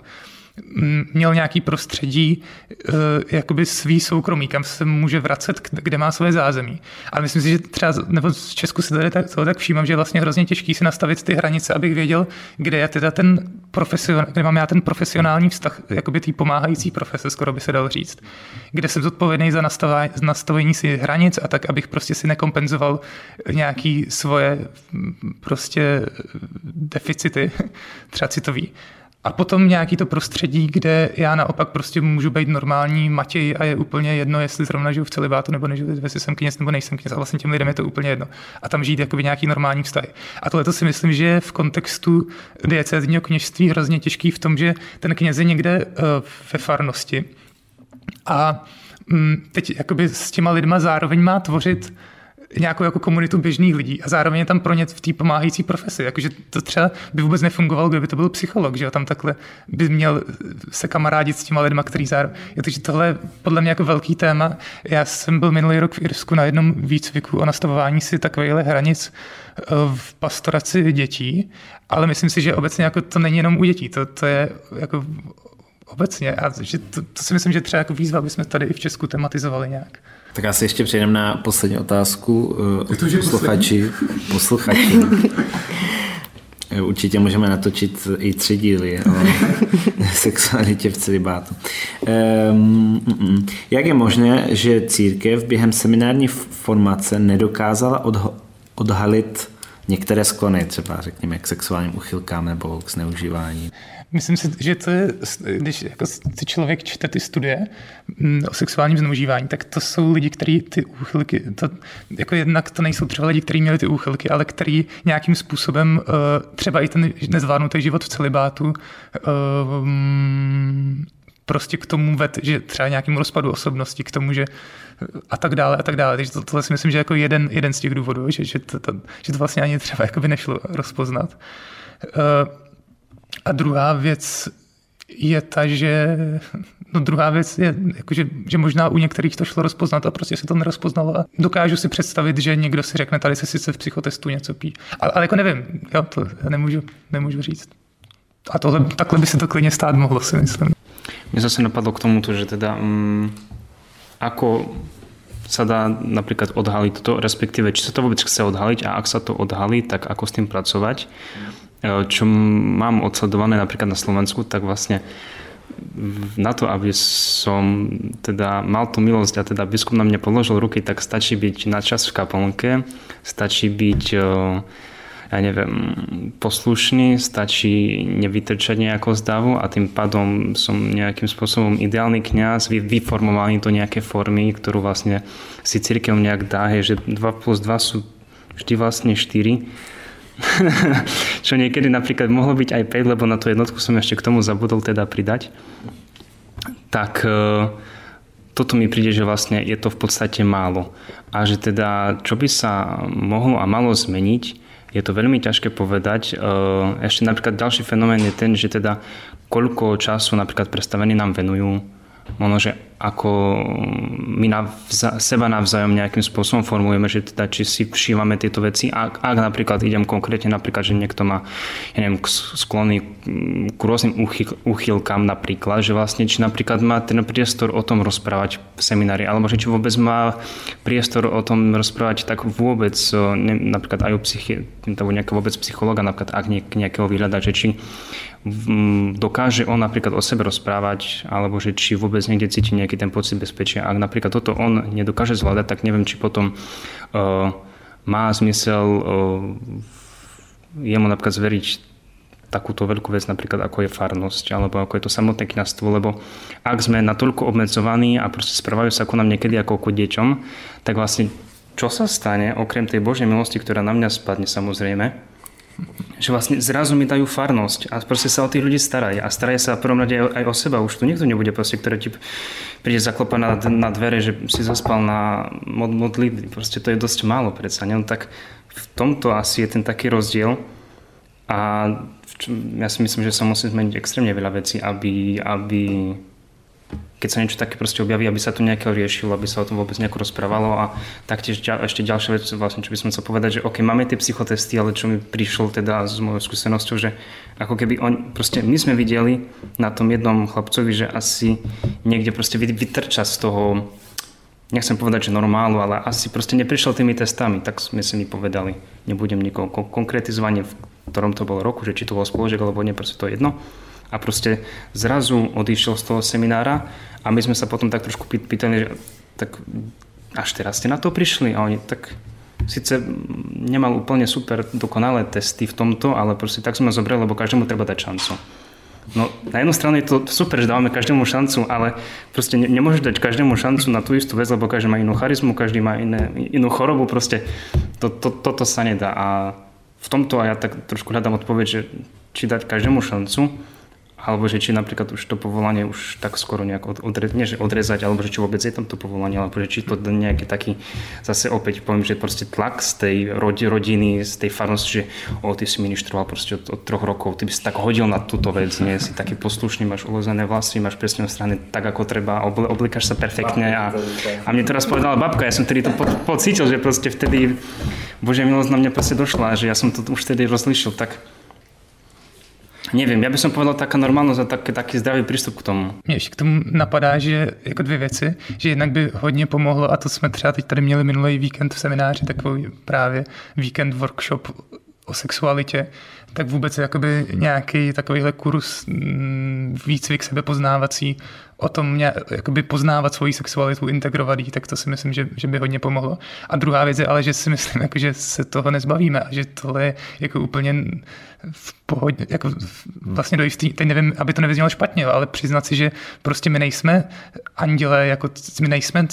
měl nějaký prostředí, jakoby svý soukromí, kam se může vracet, kde má své zázemí. Ale myslím si, že třeba, nebo z Česku se tady tak, toho tak všímám, že je vlastně hrozně těžký si nastavit ty hranice, abych věděl, kde je teda ten profesion, kde mám já ten profesionální vztah, jakoby tý pomáhající profese, skoro by se dalo říct. Kde jsem zodpovědný za nastavení si hranic a tak, abych prostě si nekompenzoval nějaký svoje prostě deficity, třeba citový. A potom nějaký to prostředí, kde já naopak prostě můžu být normální Matěj a je úplně jedno, jestli zrovna žiju v celibátu nebo nežiju, jestli jsem kněz nebo nejsem kněz. A vlastně těm lidem je to úplně jedno. A tam žít jakoby nějaký normální vztahy. A tohle to si myslím, že je v kontextu diecézního kněžství hrozně těžký v tom, že ten kněz je někde uh, ve farnosti. A um, teď jakoby s těma lidma zároveň má tvořit nějakou jako komunitu běžných lidí a zároveň je tam pro ně v té pomáhající profesi. Jakože to třeba by vůbec nefungovalo, kdyby to byl psycholog, že jo? Tam takhle by měl se kamarádit s těma lidma, který zároveň... Takže tohle je podle mě jako velký téma. Já jsem byl minulý rok v Irsku na jednom výcviku o nastavování si takovýchhle hranic v pastoraci dětí, ale myslím si, že obecně jako to není jenom u dětí, to, to je jako obecně. A že to, to si myslím, že třeba jako výzva, aby jsme tady i v Česku tematizovali nějak. Tak asi ještě přejdeme na poslední otázku od posluchači. posluchači. Určitě můžeme natočit i tři díly o sexualitě v celibátu. Um, jak je možné, že církev během seminární formace nedokázala odho- odhalit některé sklony, třeba řekněme k sexuálním uchylkám nebo k zneužívání? Myslím si, že to je, když jako si člověk čte ty studie o sexuálním zneužívání, tak to jsou lidi, kteří ty úchylky, to, jako jednak to nejsou třeba lidi, kteří měli ty úchylky, ale kteří nějakým způsobem třeba i ten nezvládnutý život v celibátu prostě k tomu ved, že třeba nějakému rozpadu osobnosti, k tomu, že a tak dále a tak dále. Takže to, tohle si myslím, že jako jeden, jeden z těch důvodů, že, že, to, to, že to vlastně ani třeba jako by nešlo rozpoznat. A druhá věc je ta, že no druhá věc je, jako že, že možná u některých to šlo rozpoznat a prostě se to nerozpoznalo. A dokážu si představit, že někdo si řekne, tady se sice v psychotestu něco pí. Ale, ale jako nevím, jo, to nemůžu, nemůžu říct. A tohle, takhle by se to klidně stát mohlo, si myslím. Mne zase napadlo k tomuto, že teda um, ako sa dá napríklad odhaliť toto, respektíve či sa to vôbec chce odhaliť a ak sa to odhalí, tak ako s tým pracovať. Čo mám odsledované napríklad na Slovensku, tak vlastne na to, aby som teda mal tú milosť a teda biskup na mňa položil ruky, tak stačí byť na čas v kaplnke, stačí byť, ja neviem, poslušný, stačí nevytrčať nejako z davu a tým pádom som nejakým spôsobom ideálny kňaz, vyformovaný do nejaké formy, ktorú vlastne si cirkev nejak dá, že dva plus dva sú vždy vlastne štyri. Čo niekedy napríklad mohlo byť aj päť, lebo na tú jednotku som ešte k tomu zabudol teda pridať. Tak toto mi príde, že vlastne je to v podstate málo. A že teda, čo by sa mohlo a malo zmeniť, je to veľmi ťažké povedať. Ešte napríklad ďalší fenomén je ten, že teda koľko času napríklad predstavení nám venujú, možno, že ako my navza, seba navzájom nejakým spôsobom formujeme, že teda či si všívame tieto veci. Ak, ak napríklad idem konkrétne, napríklad, že niekto má, ja neviem, sklony k rôznym uchyl, uchylkám napríklad, že vlastne či napríklad má ten priestor o tom rozprávať v seminári, alebo že či vôbec má priestor o tom rozprávať tak vôbec, ne, napríklad aj u psychi, alebo nejakého vôbec psychologa, napríklad ak nejakého vyhľadať, že či dokáže on napríklad o sebe rozprávať, alebo že či vôbec niekde cíti nejaký ten pocit bezpečia. Ak napríklad toto on nedokáže zvládať, tak neviem, či potom uh, má zmysel uh, jemu napríklad zveriť takúto veľkú vec, napríklad ako je farnosť, alebo ako je to samotné kňazstvo, lebo ak sme natoľko obmedzovaní a proste správajú sa ako nám niekedy ako ku deťom, tak vlastne čo sa stane, okrem tej Božej milosti, ktorá na mňa spadne samozrejme, že vlastne zrazu mi dajú farnosť a proste sa o tých ľudí starajú a starajú sa v prvom rade aj o seba. Už tu nikto nebude proste, ktorý ti príde zaklopať na, na dvere, že si zaspal na mod, modlitby. Proste to je dosť málo predsa. Ne? No tak v tomto asi je ten taký rozdiel a ja si myslím, že sa musí zmeniť extrémne veľa vecí, aby, aby keď sa niečo také proste objaví, aby sa to nejako riešilo, aby sa o tom vôbec nejako rozprávalo a taktiež ešte ďalšia vec, vlastne, čo by som chcel povedať, že OK, máme tie psychotesty, ale čo mi prišlo teda s mojou skúsenosťou, že ako keby on, proste my sme videli na tom jednom chlapcovi, že asi niekde proste vytrča z toho, nechcem povedať, že normálu, ale asi proste neprišiel tými testami, tak sme si mi povedali. Nebudem nikoho konkretizovanie, v ktorom to bolo roku, že či to bol spoloček, alebo nie, proste to je jedno. A proste zrazu odišiel z toho seminára a my sme sa potom tak trošku pýtali, že tak až teraz ste na to prišli? A oni tak síce nemal úplne super dokonalé testy v tomto, ale proste tak sme zobrali, lebo každému treba dať šancu. No na jednu stranu je to super, že dávame každému šancu, ale proste ne, nemôžeš dať každému šancu na tú istú vec, lebo každý má inú charizmu, každý má iné, inú chorobu, proste to, to, toto sa nedá. A v tomto aj ja tak trošku hľadám odpoveď, že či dať každému šancu, alebo že či napríklad už to povolanie už tak skoro nejak odrezať, nie že odrezať, alebo že či vôbec je tam to povolanie, alebo že či to nejaký taký, zase opäť poviem, že proste tlak z tej rodiny, z tej farnosti, že o, ty si ministroval proste od, od troch rokov, ty by si tak hodil na túto vec, nie, si taký poslušný, máš uložené vlasy, máš presne strany tak, ako treba, oblíkaš sa perfektne a, a mne to raz povedala babka, ja som tedy to po, pocítil, že proste vtedy Božia milosť na mňa proste došla, že ja som to už vtedy rozlišil, tak nevím, já bych som povedal taká normálnost a tak, taký zdravý přístup k tomu. Mě ještě k tomu napadá, že jako dvě věci, že jednak by hodně pomohlo, a to jsme třeba teď tady měli minulý víkend v semináři, takový právě víkend workshop o sexualitě, tak vůbec jakoby nějaký takovýhle kurz, výcvik sebepoznávací, o tom jakoby poznávat svoji sexualitu, integrovat ji, tak to si myslím, že, že by hodně pomohlo. A druhá věc je ale, že si myslím, jako, že se toho nezbavíme a že tohle je jako úplně v pohodě, jako vlastně do jistý, teď nevím, aby to nevyznělo špatně, ale přiznat si, že prostě my nejsme anděle, jako my nejsme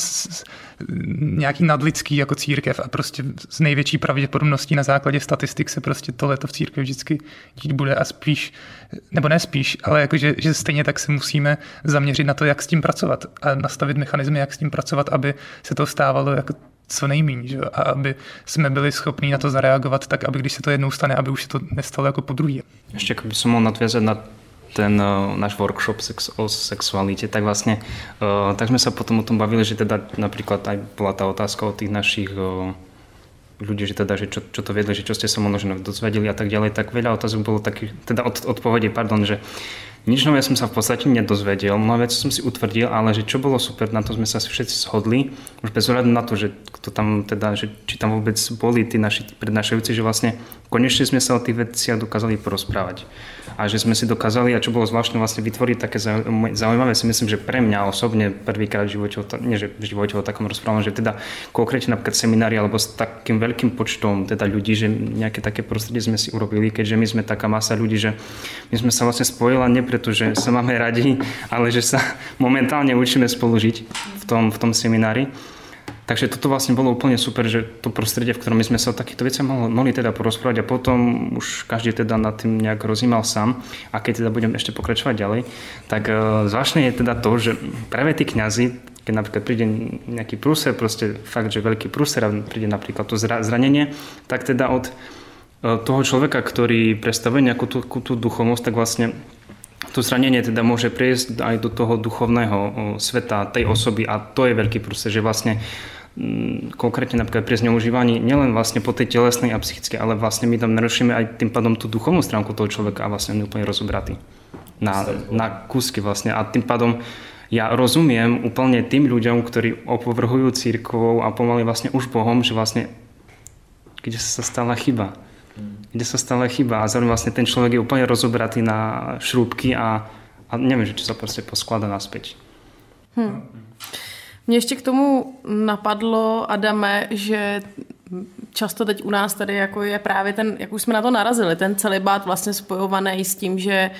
nějaký nadlidský jako církev a prostě s největší pravděpodobností na základě statistik se prostě tohleto v církvi vždycky dít bude a spíš, nebo ne spíš, ale jako, že, že stejně tak se musíme zaměřit na to, jak s tím pracovat a nastavit mechanismy, jak s tím pracovat, aby se to stávalo jako co nejméně, že? A aby jsme byli schopní na to zareagovat tak, aby když se to jednou stane, aby už se to nestalo jako po druhé. Ještě kdyby som mohl nadvězat na ten uh, náš workshop sex, o sexualitě, tak vlastně uh, tak jsme se potom o tom bavili, že teda například aj byla ta otázka o těch našich uh, ľudí, že teda, že čo, čo to viedli, že čo ste sa možno dozvedeli a tak ďalej, tak veľa otázok bolo takých, teda od, odpovedí, pardon, že nič nové som sa v podstate nedozvedel, mnoho vecí som si utvrdil, ale že čo bolo super, na to sme sa všetci shodli, už bez ohľadu na to, že kto tam teda, že či tam vôbec boli tí naši prednášajúci, že vlastne konečne sme sa o tých veciach dokázali porozprávať. A že sme si dokázali, a čo bolo zvláštne, vlastne vytvoriť také zaujímavé, si myslím, že pre mňa osobne prvýkrát v živote, nie že v živote o takom rozprávam, že teda konkrétne napríklad seminári alebo s takým veľkým počtom teda ľudí, že nejaké také prostredie sme si urobili, keďže my sme taká masa ľudí, že my sme sa vlastne spojila nie preto, že sa máme radi, ale že sa momentálne učíme spolu žiť v tom, v tom seminári. Takže toto vlastne bolo úplne super, že to prostredie, v ktorom my sme sa o takýchto veciach mohli, mohli teda porozprávať a potom už každý teda nad tým nejak rozímal sám. A keď teda budem ešte pokračovať ďalej, tak uh, zvláštne je teda to, že práve tí kňazi, keď napríklad príde nejaký prúser, proste fakt, že veľký prúser a príde napríklad to zranenie, tak teda od uh, toho človeka, ktorý predstavuje nejakú tú, tú duchovnosť, tak vlastne to zranenie teda môže prejsť aj do toho duchovného sveta tej osoby a to je veľký prúser, že vlastne konkrétne napríklad pri zneužívaní nielen vlastne po tej telesnej a psychickej, ale vlastne my tam narušíme aj tým pádom tú duchovnú stránku toho človeka a vlastne on je úplne rozobratý na, na kúsky vlastne a tým pádom ja rozumiem úplne tým ľuďom, ktorí opovrhujú církvou a pomaly vlastne už Bohom, že vlastne kde sa stala chyba. kde sa stala chyba a zároveň vlastne ten človek je úplne rozobratý na šrúbky a, a neviem, že či sa proste posklada naspäť. Hmm. Mě ještě k tomu napadlo, Adame, že často teď u nás tady jako je právě ten, jak už jsme na to narazili, ten celibát vlastně spojovaný s tím, že,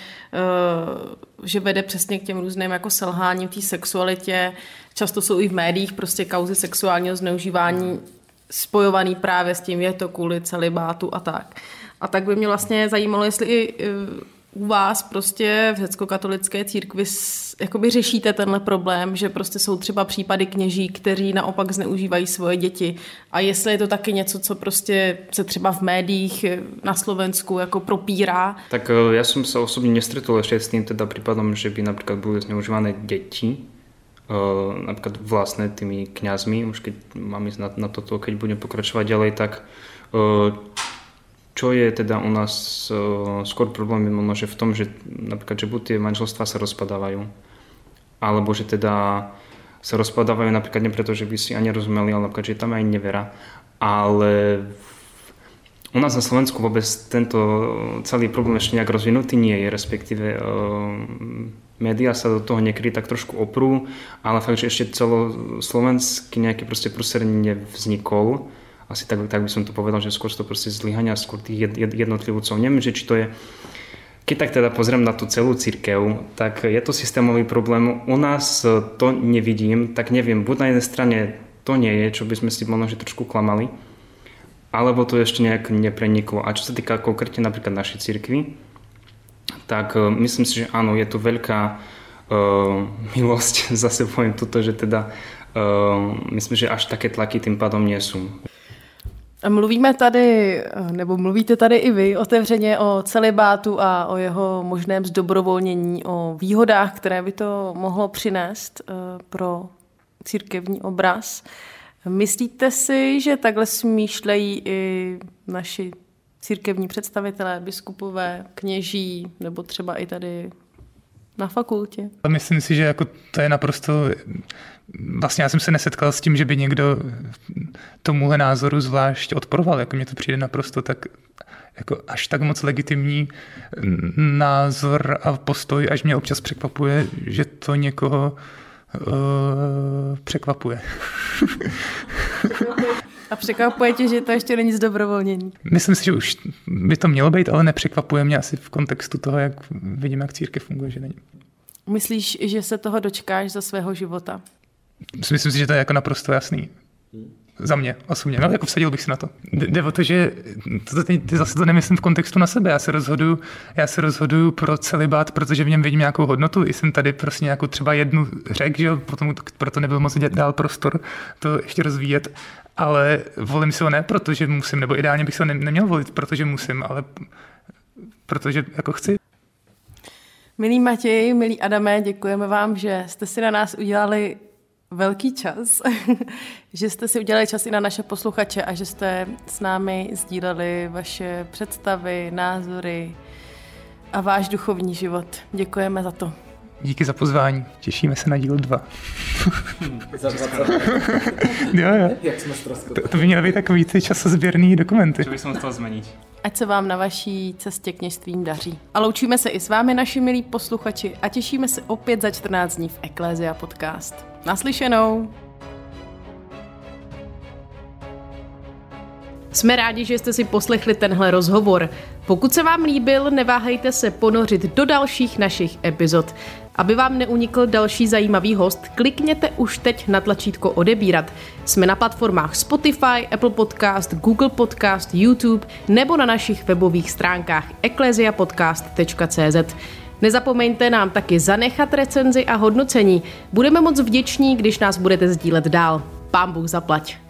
uh, že vede přesně k těm různým jako selháním v té sexualitě. Často jsou i v médiích prostě kauzy sexuálního zneužívání spojovaný právě s tím, je to kvůli celibátu a tak. A tak by mě vlastně zajímalo, jestli i uh, u vás prostě v řeckokatolické církvi jakoby řešíte tenhle problém, že prostě jsou třeba případy kněží, kteří naopak zneužívají svoje děti. A jestli je to taky něco, co prostě se třeba v médiích na Slovensku jako propírá. Tak ja som sa osobne nestretol ešte s tým teda prípadom, že by napríklad boli zneužívané deti, napríklad vlastné tými kňazmi, už keď mám ísť na, na toto, keď budem pokračovať ďalej, tak čo je teda u nás uh, skôr problém je možno, že v tom, že napríklad, že buď tie manželstvá sa rozpadávajú, alebo že teda sa rozpadávajú napríklad nie preto, že by si ani rozumeli, ale napríklad, že je tam aj nevera. Ale u nás na Slovensku vôbec tento celý problém ešte nejak rozvinutý nie je, respektíve uh, médiá sa do toho niekedy tak trošku oprú, ale fakt, že ešte celoslovenský nejaký proste prúser nevznikol. Asi tak, tak by som to povedal, že skôr to proste zlyhania skôr tých jednotlivcov. Neviem, že či to je, keď tak teda pozriem na tú celú cirkev, tak je to systémový problém. U nás to nevidím, tak neviem, buď na jednej strane to nie je, čo by sme si možno že trošku klamali, alebo to ešte nejak nepreniklo. A čo sa týka konkrétne napríklad našej cirkvi, tak myslím si, že áno, je to veľká uh, milosť, zase poviem toto, že teda uh, myslím, že až také tlaky tým pádom nie sú. Mluvíme tady, nebo mluvíte tady i vy otevřeně o celibátu a o jeho možném zdobrovolnění, o výhodách, které by to mohlo přinést pro církevní obraz. Myslíte si, že takhle smýšlejí i naši církevní představitelé, biskupové, kněží, nebo třeba i tady na fakultě? Myslím si, že jako to je naprosto... Vlastně já jsem se nesetkal s tím, že by někdo tomuhle názoru zvlášť odporoval. Jako mně to přijde naprosto tak jako až tak moc legitimní názor a postoj, až mě občas překvapuje, že to někoho uh, překvapuje. A překvapuje tě, že to ještě není zdobrovolnění? Myslím si, že už by to mělo být, ale nepřekvapuje mě asi v kontextu toho, jak vidím, jak církev funguje, že není. Myslíš, že se toho dočkáš za svého života? Myslím si, že to je jako naprosto jasný. Za mě, osobně. No, jako vsadil bych si na to. Jde o to, že to, teď, zase to nemyslím v kontextu na sebe. Já se rozhoduju, já se rozhoduju pro celibát, protože v něm vidím nějakou hodnotu. I jsem tady prostě nějakou třeba jednu řekl, že potom proto nebyl moc dál prostor to ještě rozvíjet. Ale volím si ho ne, protože musím, nebo ideálně bych se ho ne, neměl volit, protože musím, ale protože jako chci. Milý Matěj, milý Adame, děkujeme vám, že jste si na nás udělali velký čas, že jste si udělali čas i na naše posluchače a že jste s námi sdíleli vaše představy, názory a váš duchovní život. Děkujeme za to. Díky za pozvání. Těšíme se na díl dva. Za dvacet Jo, jo. Jak jsme ztroskotali. To, to by měly být takový ty časozběrný dokumenty. Čo by som chcel zmeniť? Ať se vám na vaší cestě kněžstvím daří. A loučíme se i s vámi, naši milí posluchači, a těšíme se opět za čtrnáct dní v Ecclesia Podcast. Naslyšenou! Jsme rádi, že jste si poslechli tenhle rozhovor. Pokud se vám líbil, neváhejte se ponořit do dalších našich epizod. Aby vám neunikl další zajímavý host, klikněte už teď na tlačítko odebírat. Jsme na platformách Spotify, Apple Podcast, Google Podcast, YouTube nebo na našich webových stránkách ecclesia podcast tečka cé zet. Nezapomeňte nám taky zanechat recenzi a hodnocení. Budeme moc vděční, když nás budete sdílet dál. Pán Bůh zaplať.